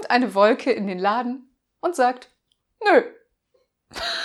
kommt eine Wolke in den Laden und sagt, nö.